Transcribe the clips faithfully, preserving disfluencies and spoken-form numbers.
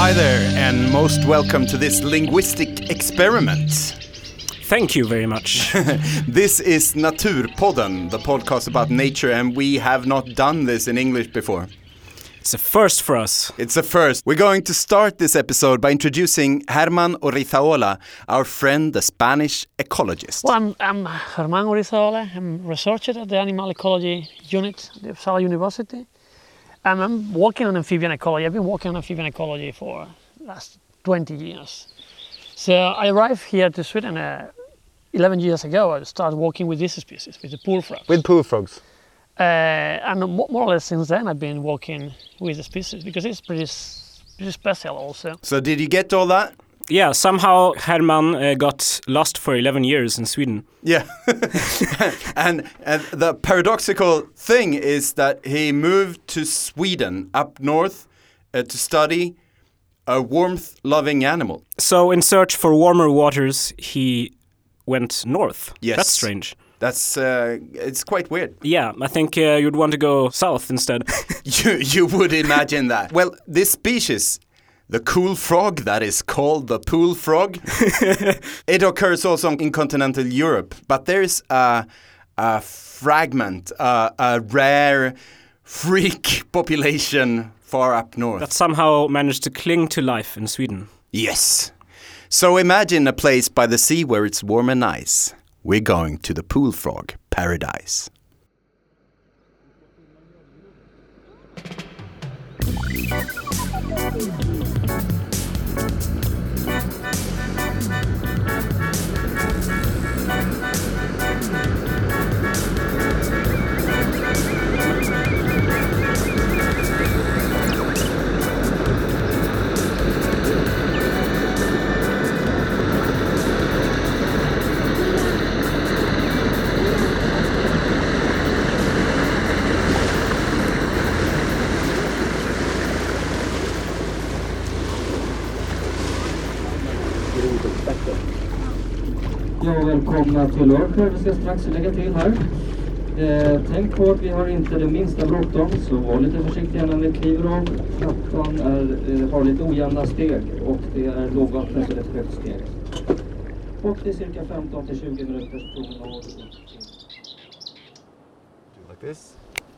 Hi there, and most welcome to this linguistic experiment. Thank you very much. This is Naturpodden, the podcast about nature, and we have not done this in English before. It's a first for us. It's a first. We're going to start this episode by introducing Germán Urrizaola, our friend, the Spanish ecologist. Well, I'm, I'm Germán Urrizaola. I'm a researcher at the Animal Ecology Unit at Uppsala University. And I'm working on amphibian ecology. I've been working on amphibian ecology for the last twenty years. So I arrived here to Sweden uh, eleven years ago. I started working with this species, with the pool frog. With pool frogs. Uh, and more or less since then I've been working with the species because it's pretty, pretty special also. So did you get all that? Yeah, somehow Herman uh, got lost for eleven years in Sweden. Yeah. and, and the paradoxical thing is that he moved to Sweden up north uh, to study a warmth-loving animal. So in search for warmer waters, he went north. Yes. That's strange. That's, uh, it's quite weird. Yeah, I think uh, you'd want to go south instead. you, you would imagine that. Well, this species, the cool frog that is called the pool frog, it occurs also in continental Europe, but there's a, a fragment, uh, a rare freak population far up north. That somehow managed to cling to life in Sweden. Yes. So imagine a place by the sea where it's warm and nice. We're going to the pool frog paradise. Ja, välkomna till Örsjö. Vi ska strax lägga till här. Eh, tänk på att vi har inte det minsta bråttom, så var lite försiktiga när vi kliver av. Trappan är, eh, har lite ojämna steg och det är lågvattnet och ett högt steg. Och det är cirka femton till tjugo minuters promenad. Do like this.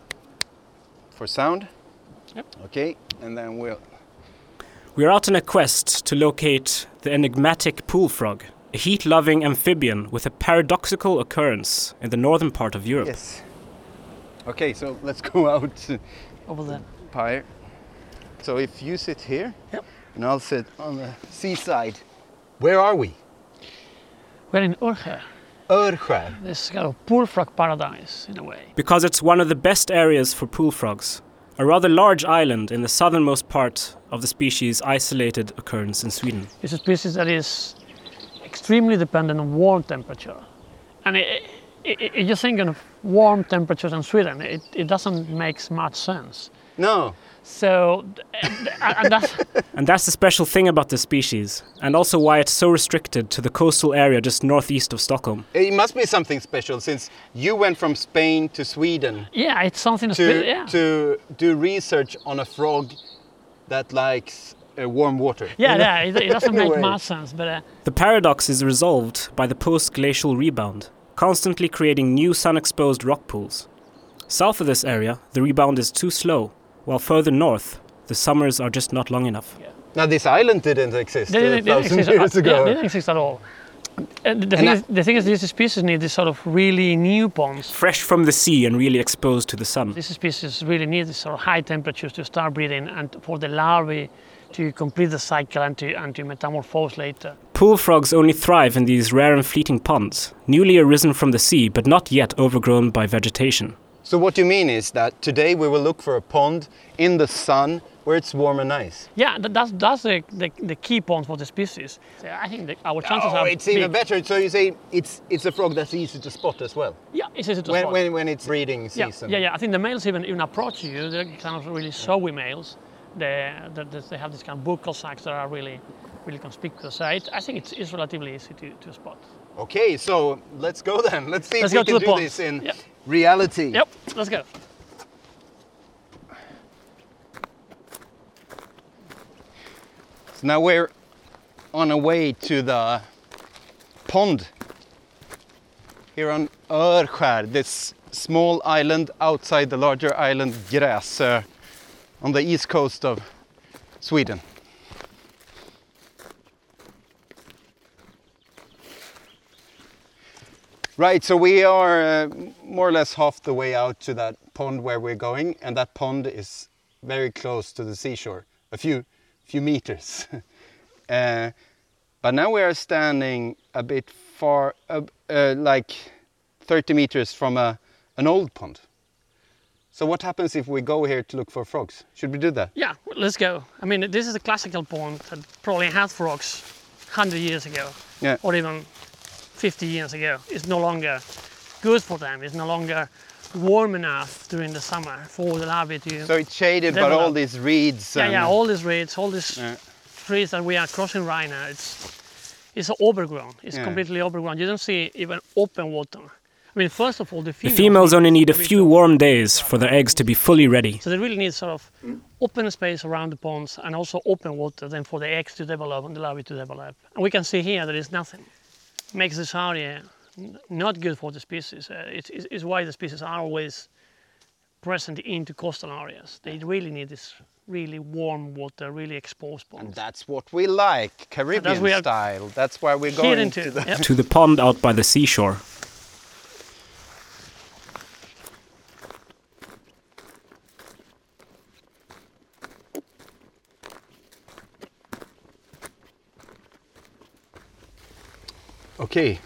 For sound? Yep. Okay, and then we'll... We're out on a quest to locate the enigmatic pool frog, a heat-loving amphibian with a paradoxical occurrence in the northern part of Europe. Yes. Okay, so let's go out Over there. Pyre. So if you sit here, Yep. and I'll sit on the seaside. Where are we? We're in Örsjö. Örsjö. This kind of pool frog paradise in a way. Because it's one of the best areas for pool frogs, a rather large island in the southernmost part of the species' isolated occurrence in Sweden. It's a species that is extremely dependent on warm temperature. And it, it, it, you think of warm temperatures in Sweden, it, it doesn't make much sense. No. So, and that's, And that's the special thing about this species, and also why it's so restricted to the coastal area just northeast of Stockholm. It must be something special since you went from Spain to Sweden yeah, it's something to, spe- yeah. to do research on a frog that likes uh, warm water. Yeah, yeah, it, it doesn't make Anyway. much sense, but uh, The paradox is resolved by the post-glacial rebound, constantly creating new sun-exposed rock pools. South of this area, the rebound is too slow, while further north, the summers are just not long enough. Now this island didn't exist they a didn't, didn't thousand exist. years uh, ago. Yeah, they didn't exist at all. And the, thing I- is, the thing is, this species need this sort of really new ponds. Fresh from the sea and really exposed to the sun. This species really needs sort of high temperatures to start breeding and for the larvae to complete the cycle and to, and to metamorphose later. Pool frogs only thrive in these rare and fleeting ponds, newly arisen from the sea but not yet overgrown by vegetation. So what you mean is that today we will look for a pond in the sun where it's warm and nice. Yeah, that, that's, that's the, the, the key point for the species. So I think that our chances Oh, are it's big. even better. So you say it's it's a frog that's easy to spot as well Yeah, it's easy to when spot. when, when it's breeding yeah, season. yeah, yeah. I think the males even even approach you. They're kind of really showy males. They, they, they have these kind of buccal sacs that are really, really conspicuous. So it, I think it's, it's relatively easy to, to spot. Okay, so let's go then. Let's see Let's if go we to can the do ponds. this in Yep. reality. Yep, let's go. So now we're on our way to the pond here on Örskär, this small island outside the larger island Gräsö on the east coast of Sweden. Right, so we are uh, more or less half the way out to that pond where we're going, and that pond is very close to the seashore, a few few meters. uh, but now we are standing a bit far, uh, uh, like thirty meters from a, an old pond. So what happens if we go here to look for frogs? Should we do that? Yeah, let's go. I mean, this is a classical pond that probably had frogs one hundred years ago, Yeah. or even fifty years ago. It's no longer good for them. It's no longer warm enough during the summer for the larvae to... So it's shaded by develop. all these reeds. Yeah, and, yeah, all these reeds, all these Yeah. trees that we are crossing right now, it's it's overgrown. It's Yeah. completely overgrown. You don't see even open water. I mean, first of all, the The females, females only need a to be few so- warm days for their eggs to be fully ready. So they really need sort of open space around the ponds and also open water then for the eggs to develop and the larvae to develop. And we can see here there is nothing. Makes this area n- not good for the species. Uh, it's, it's, it's why the species are always present into coastal areas. They really need this really warm water, really exposed And ponds. that's what we like, Caribbean we are style. That's why we're Here going into, to the... yeah. To the pond out by the seashore. Okay.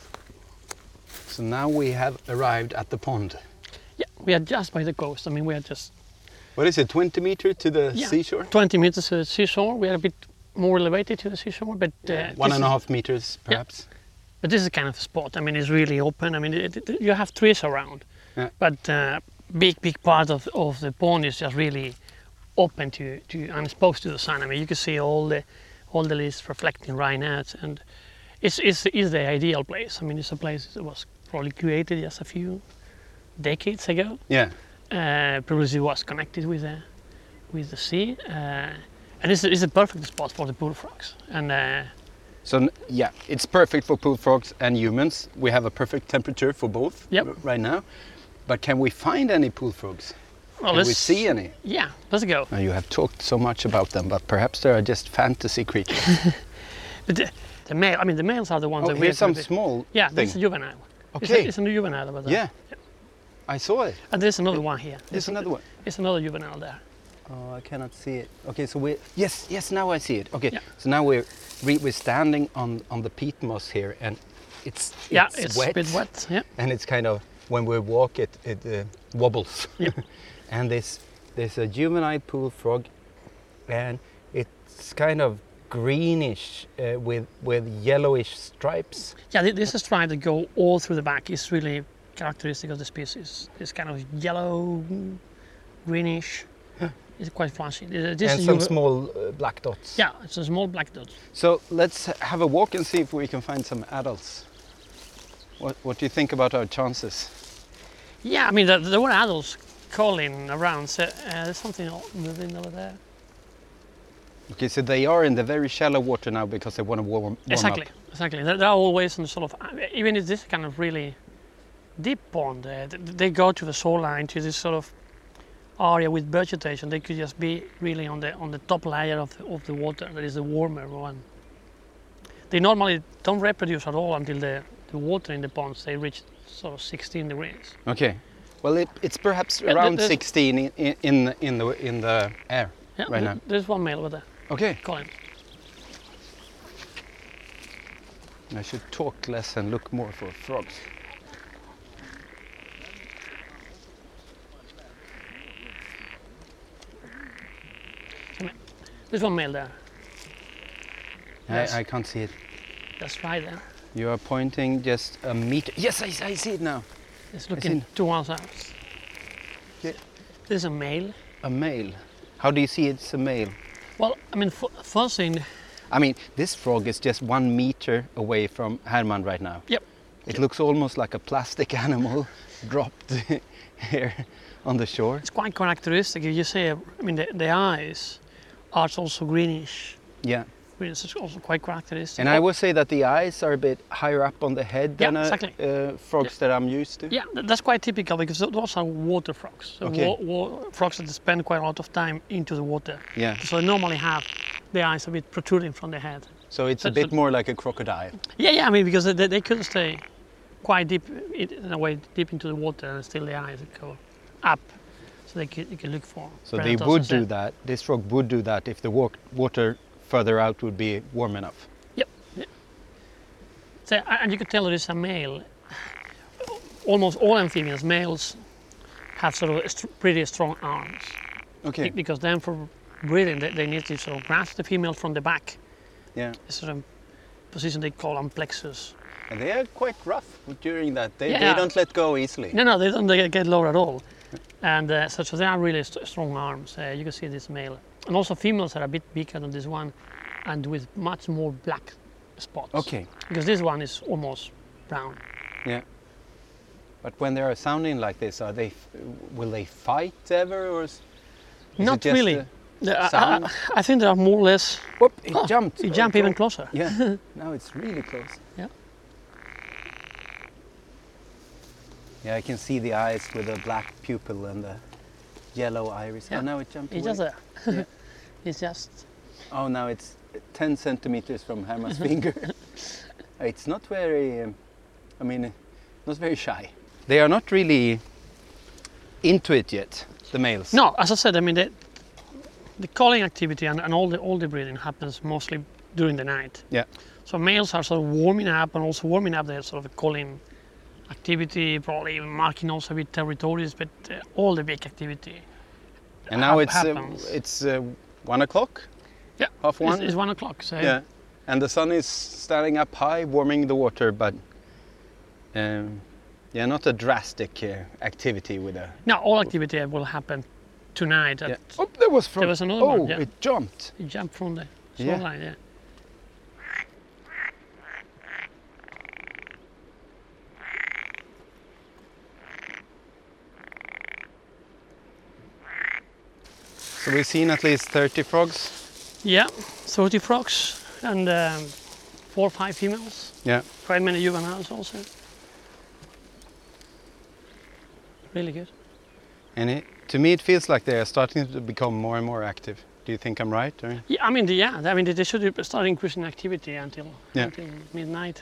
So now we have arrived at the pond. Yeah, we are just by the coast. I mean, we are just What is it, twenty meter to the Yeah. seashore? twenty meters to the seashore. We are a bit more elevated to the seashore, but uh, One this and a is- half meters, perhaps. But this is kind of a spot. I mean, it's really open. I mean, it, it, you have trees around, Yeah. but uh, big, big part of, of the pond is just really open to, to and exposed to the sun. I mean, you can see all the all the leaves reflecting right now, and it's it's, it's the ideal place. I mean, it's a place that was probably created just a few decades ago. Yeah. Uh, previously was connected with the with the sea, uh, and it's, it's a perfect spot for the bullfrogs. And uh, So n- yeah, it's perfect for pool frogs and humans. We have a perfect temperature for both Yep. r- right now. But can we find any pool frogs? well, Can we let's see any? Yeah, let's go. Now, you have talked so much about them, but perhaps they are just fantasy creatures. But the, the male, I mean, the males are the ones Oh, that here's we some small Yeah, thing. this is a juvenile. It's Okay. a, it's a new juvenile over there. Yeah, I saw it. And there's another one here. There's another one. There's another juvenile there. Oh, I cannot see it. Okay, so we yes, yes, now I see it. Okay, Yeah. so now we're we, we're standing on on the peat moss here, and it's, it's Yeah, it's wet, a bit wet. Yeah. and it's kind of when we walk it it uh, wobbles. Yeah. And this there's a juvenile pool frog, and it's kind of greenish uh, with with yellowish stripes. Yeah, thi- this is stripe that go all through the back. It's really characteristic of the species. It's kind of yellow, greenish. It's quite flashy. Uh, This and is some juve- small uh, black dots. Yeah, it's a small black dot. So let's have a walk and see if we can find some adults. What What do you think about our chances? Yeah, I mean, there, there were adults calling around. So, uh, there's something o- moving over there. Okay, so they are in the very shallow water now because they want to warm, warm Exactly, up. exactly. They're, they're always in the sort of, even if this kind of really deep pond, uh, th- they go to the shoreline, to this sort of area with vegetation. They could just be really on the on the top layer of the, of the water. That is the warmer one. They normally don't reproduce at all until the, the water in the ponds they reach sort of sixteen degrees. Okay, well it, it's perhaps Yeah, around there's- sixteen in, in in in the in the air. Yeah, Right th- now. there's one male over there. Okay, Colin. I should talk less and look more for frogs. There's one male there. Yes. I, I can't see it. That's right there. You are pointing just a meter. Yes, I, I see it now. It's looking seen- towards us. Yeah. There's a male. A male. How do you see it's a male? Well, I mean, f- first thing, I mean, this frog is just one meter away from Herman right now. Yep. It looks almost like a plastic animal dropped here on the shore. it's quite characteristic. You see, I mean, the, the eyes are also greenish Yeah. which is also quite characteristic. And I would say that the eyes are a bit higher up on the head Yeah, than uh, exactly. uh, frogs that I'm used to. Yeah, th- that's quite typical because th- those are water frogs. So Okay. wa- wa- frogs that spend quite a lot of time into the water. Yeah. So they normally have the eyes a bit protruding from the head. So it's So- a bit so- more like a crocodile. Yeah, yeah. I mean, because they, they could stay quite deep, in in a way, deep into the water, and still the eyes go up, so they can, you can look for. So they predators would instead. do that. This frog would do that if the wa- water further out would be warm enough. Yep. Yeah. So, a- and you could tell there is a male. Almost all amphibians, males, have sort of a st- pretty strong arms. Okay. Be- Because then for breeding, they, they need to sort of grasp the female from the back. Yeah. This sort of position they call amplexus. And they are quite rough during that. They, Yeah. they don't let go easily. No, no, they don't get- get lower at all. And uh, so, so they are really st- strong arms. Uh, you can see this male. And also females are a bit bigger than this one and with much more black spots. Okay. Because this one is almost brown. Yeah. But when they are sounding like this, are they? f- Will they fight ever, or is, is it Not just really. a- The- I- I, sound? I think they are more or less. Whoop! It Oh, jumped. You Oh, jump even God. closer. Yeah. Now it's really close. Yeah. Yeah, I can see the eyes with the black pupil and the yellow iris. Yeah. Oh, now it jumped It's away. just there. Yeah. It's just. Oh, now it's ten centimeters from Herman's finger. It's not very, um, I mean, uh, not very shy. They are not really into it yet, the males. No, as I said, I mean the, the calling activity and, and all the all the breeding happens mostly during the night. Yeah. So males are sort of warming up and also warming up their sort of calling activity, probably even marking also with territories, but uh, all the big activity. And now hap- it's uh, happens. it's uh, one o'clock. Yeah, Half one. It's, it's one o'clock. So Yeah. And the sun is standing up high, warming the water, but um, yeah, not a drastic uh, activity with a. now all activity will happen tonight. At, Yeah. Oh, there was from. There was another oh, one, yeah. it jumped. You jump from the Yeah. shoreline. Yeah. So we've seen at least thirty frogs. Yeah, thirty frogs and um, four or five females. Yeah. Quite many juveniles also. Really good. And it, to me, it feels like they are starting to become more and more active. Do you think I'm right? Or? Yeah, I mean, the, yeah, I mean, they should start increasing activity until Yeah. until midnight.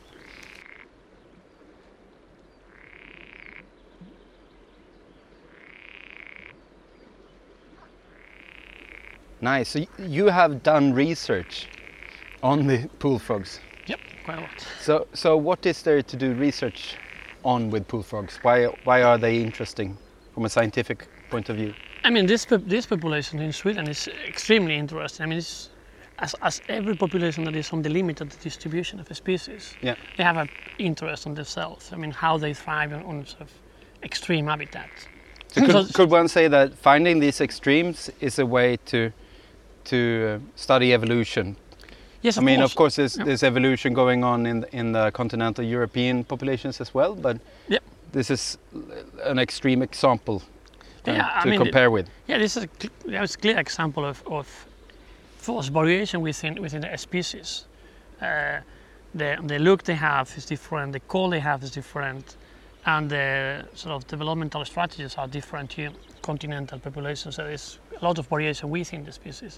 Nice. So y- you have done research on the pool frogs. Yep, quite a lot. So, so what is there to do research on with pool frogs? Why, why are they interesting from a scientific point of view? I mean, this pop- this population in Sweden is extremely interesting. I mean, it's, as as every population that is on the limit of the distribution of a species, Yeah. they have an interest on themselves. I mean, how they thrive on, on sort of extreme habitats. So could, So- could one say that finding these extremes is a way to to uh, study evolution? Yes, I of mean, course. of course, there's, Yeah. there's evolution going on in the, in the continental European populations as well, but Yep. this is an extreme example uh, Yeah, I to mean, compare with. Yeah, this is a, cl- yeah, it's a clear example of, of force variation within within a species. Uh, the the look they have is different, the call they have is different, and the sort of developmental strategies are different to continental populations. So there's a lot of variation within the species.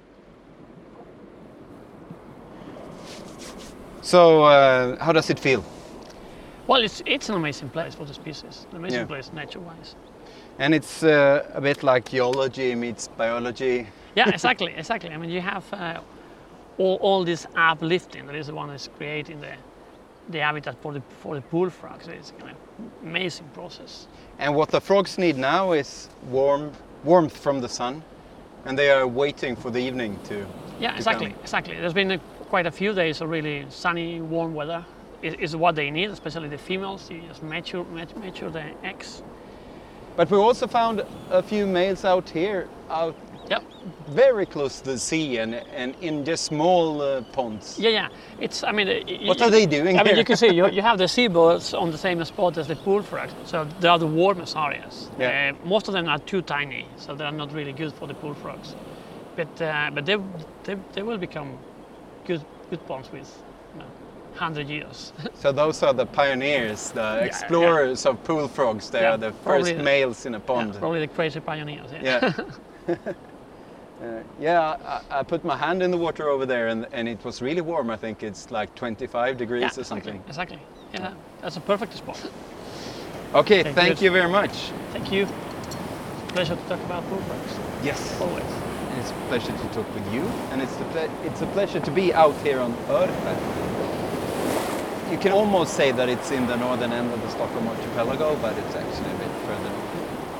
So, uh, how does it feel? Well, it's it's an amazing place for the species, an amazing Yeah. place nature-wise. And it's uh, a bit like geology meets biology. Yeah, exactly, exactly. I mean, you have uh, all, all this uplifting that is the one that's creating the the habitat for the for the bullfrogs. It's kind of amazing process. And what the frogs need now is warm warmth from the sun, and they are waiting for the evening to. Yeah, exactly, exactly. There's been a, quite a few days of really sunny, warm weather. Is is what they need, especially the females. You just mature mat- mature the eggs. But we also found a few males out here, out Yep. very close to the sea and and in just small uh, ponds. Yeah, yeah. It's. I mean. uh, y- What y- are they doing I mean, here? you can see you, you have the seabirds on the same spot as the bullfrogs, so they are the warmest areas. Yeah. Uh, most of them are too tiny, so they are not really good for the bullfrogs. But uh, but they, they they will become good good bonds with you know, one hundred years. So those are the pioneers, the explorers yeah. of pool frogs. They yeah, are the first the, males in a pond. Yeah, probably the crazy pioneers. Yeah. Yeah. uh, yeah, I, I put my hand in the water over there, and and it was really warm. I think it's like twenty-five degrees yeah, or something. Exactly. Yeah, that's a perfect spot. Okay, okay thank good. you very much. Thank you. It's a pleasure to talk about pool frogs. Yes. Always. It's a pleasure to talk with you, and it's, the ple it's a pleasure to be out here on Örfä. You can almost say that it's in the northern end of the Stockholm archipelago, but it's actually a bit further north.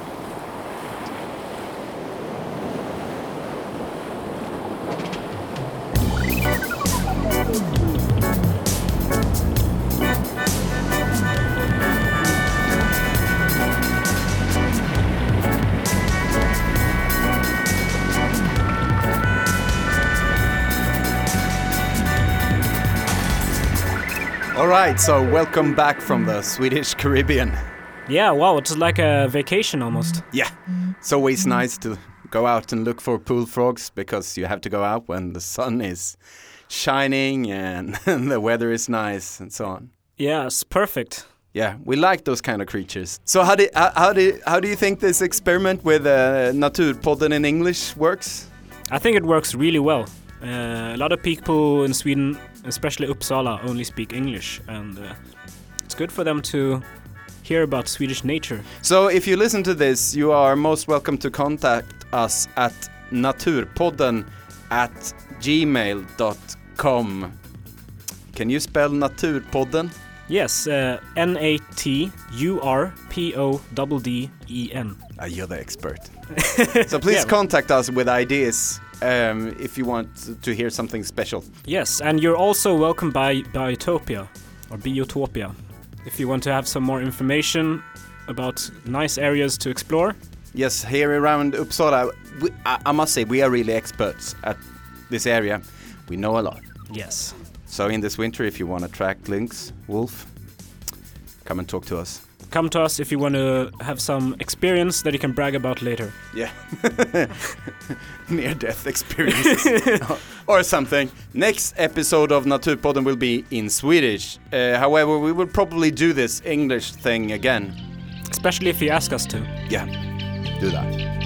All right, so welcome back from the Swedish Caribbean. Yeah, wow, it's like a vacation almost. Yeah, it's always nice to go out and look for pool frogs because you have to go out when the sun is shining and the weather is nice and so on. Yeah, it's perfect. Yeah, we like those kind of creatures. So how do how, how do how do you think this experiment with uh, Naturpodden in English works? I think it works really well. Uh, a lot of people in Sweden, especially Uppsala, only speak English, and uh, it's good for them to hear about Swedish nature. So if you listen to this, you are most welcome to contact us at naturpodden at gmail dot com. Can you spell Naturpodden? Yes, uh, N A T U R P O D D E N. Ah, you're the expert. So please yeah. contact us with ideas um, if you want to hear something special. Yes, and you're also welcome by Biotopia, or Biotopia, if you want to have some more information about nice areas to explore. Yes, here around Uppsala, we, I, I must say we are really experts at this area. We know a lot. Yes. So in this winter, if you want to track lynx, wolf, come and talk to us. Come to us if you want to have some experience that you can brag about later. Yeah. Near-death experiences. Or something. Next episode of Naturpodden will be in Swedish. Uh, however, we will probably do this English thing again. Especially if you ask us to. Yeah, do that.